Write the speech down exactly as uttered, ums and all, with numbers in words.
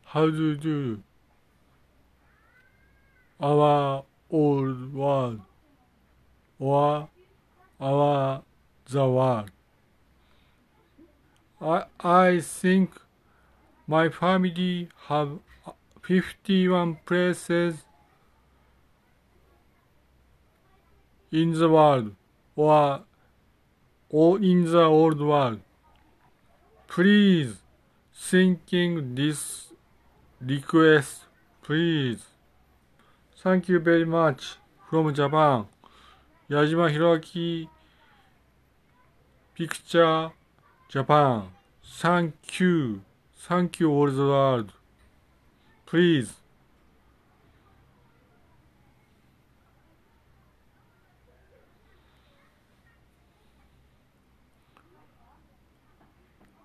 how to do our old world or our the world. I, I think my family have fifty-one places in the world or, or in the old world. Please thinking this request, please. Thank you very much from Japan. 矢島弘明 Picture Japan. Thank you. Thank you all the world. Please.